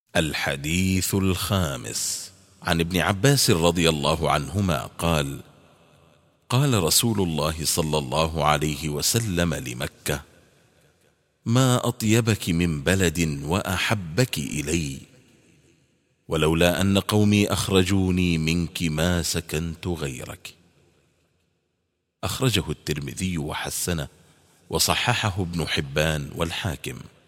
الحديث الخامس عن ابن عباس رضي الله عنهما قال: قال رسول الله صلى الله عليه وسلم لمكة: ما أطيبك من بلد وأحبك إلي، ولولا أن قومي أخرجوني منك ما سكنت غيرك. أخرجه الترمذي وحسنه وصححه ابن حبان والحاكم.